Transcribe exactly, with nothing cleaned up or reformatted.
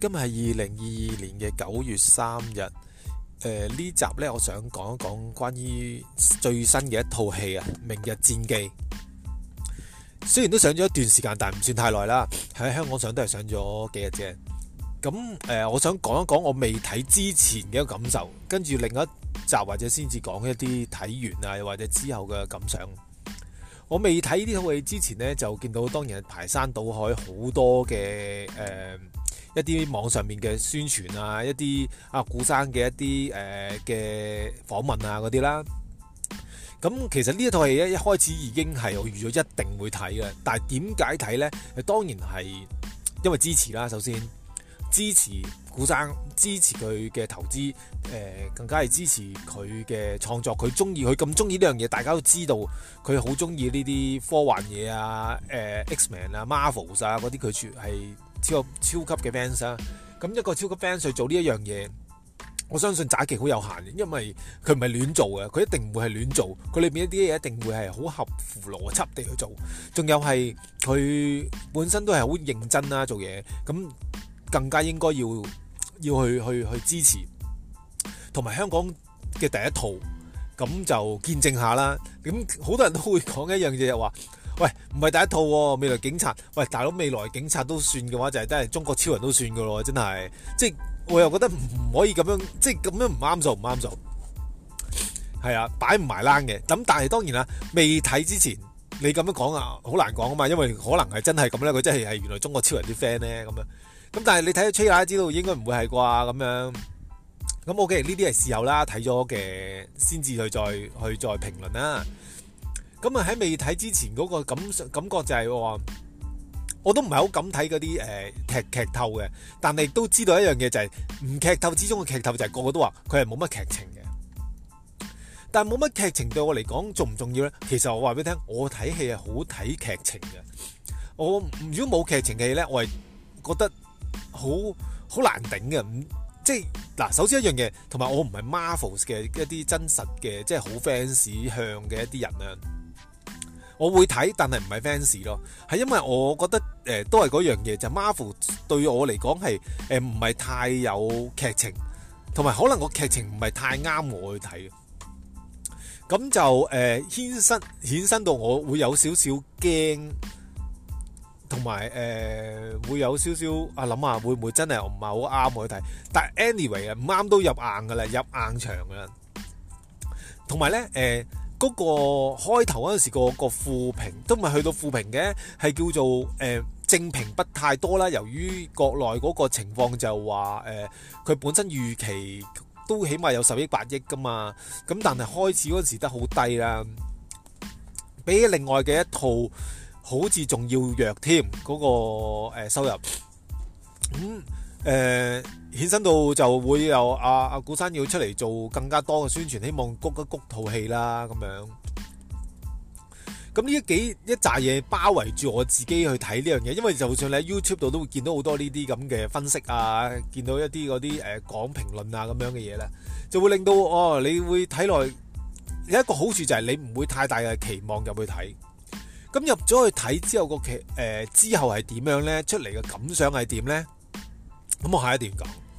今日係二零二二年嘅九月三日。誒、呃、呢集呢，我想講一講關於最新嘅一套戲啊，《明日戰記》。雖然都上咗一段時間，但唔算太耐啦。喺香港上都係上咗幾日啫。咁誒、呃，我想講一講我未睇之前嘅一個感受，跟住另一集或者先至講一啲睇完啊，又或者之後嘅感想。我未睇呢套戲之前呢，就見到當然係排山倒海好多嘅誒。呃一啲網上面嘅宣傳啊，一啲阿古生嘅一啲誒嘅訪問啊嗰啲啦。咁其實呢一套戲咧，一開始已經係我預咗一定會睇嘅。但係點解睇呢？當然係因為支持啦。首先支持古生，支持佢嘅投資，誒、呃、更加係支持佢嘅創作。佢中意佢咁中意呢樣嘢，大家都知道佢好中意呢啲科幻嘢啊，誒、呃、X-Men 啊、Marvels 啊嗰啲，佢全係超超級嘅 fans 啊。咁一個超級 fans 去做呢一樣嘢，我相信詐期好有限嘅，因為佢唔係亂做嘅，佢一定唔會係亂做，佢裏面一啲嘢一定會係好合乎邏輯地去做，仲有係佢本身都係好認真啦做嘢，咁更加應該要要去去去支持，同埋香港嘅第一套，咁就見證下啦。咁好多人都會講一樣嘢，就話喂，唔係第一套喎，未來警察，喂大佬，未來警察都算嘅話，就係真係中國超人都算嘅咯，真係，即係我又覺得唔可以咁樣，即係咁樣唔啱數，唔啱數，係啊，擺唔埋欄嘅。咁但係當然啦，未睇之前你咁樣講啊，好難講啊嘛，因為可能係真係咁咧，佢真係係原來中國超人啲 friend 咧咁樣。咁但係你睇咗 trailer 知道應該唔會係啩咁樣。咁 OK，呢啲係事後啦，睇咗嘅先至去再去再評論啦。咁啊喺未睇之前嗰個感感覺就係、是、話，我都唔係好敢睇嗰啲誒劇劇透嘅，但係都知道一樣嘢就係、是、唔劇透之中嘅劇透就係個個都話佢係冇乜劇情嘅。但係冇乜劇情對我嚟講重唔重要呢？其實我話俾你聽，我睇戲係好睇劇情嘅。我如果冇劇情嘅戲呢，我係覺得好好難頂嘅。唔即係嗱，首先一樣嘢，同埋我唔係 Marvels 嘅一啲真實嘅，即係好 fans 向嘅一啲人啊。我會睇，但係唔係 fans 咯，係因為我覺得誒、呃、都係嗰樣嘢，就係、Marvel 對我嚟講係誒唔係太有劇情，同埋可能個劇情唔係太啱我去睇，咁就誒、呃、衍生衍生到我會有少少驚，同埋誒會有少少啊諗下會唔會真係唔係好啱我去睇，但係 anyway 啊唔啱都入硬噶啦，入硬場噶啦，同埋咧誒。呃嗰、那個開頭嗰陣時個個負評都唔係去到負評嘅，係叫做誒、呃、正評不太多啦。由於國內嗰個情況就話誒，佢、呃、本身預期都起碼有十億八億噶嘛，咁但係開始嗰陣時得好低啦，比起另外嘅一套好似仲要弱添嗰、那個、呃、收入。咁、嗯誒衍生到就會有阿阿古生要出嚟做更加多嘅宣傳，希望谷一谷套戲啦咁樣。咁呢一幾一紮嘢包圍住我自己去睇呢樣嘢，因為就算你喺 YouTube 度都會見到好多呢啲咁嘅分析啊，見到一啲嗰啲誒講評論啊咁樣嘅嘢咧，就會令到哦，你會睇落有一個好處就係你唔會太大嘅期望入去睇。咁入咗去睇之後個劇誒之後係點樣咧？出嚟嘅感想係點咧？咁我下一段講。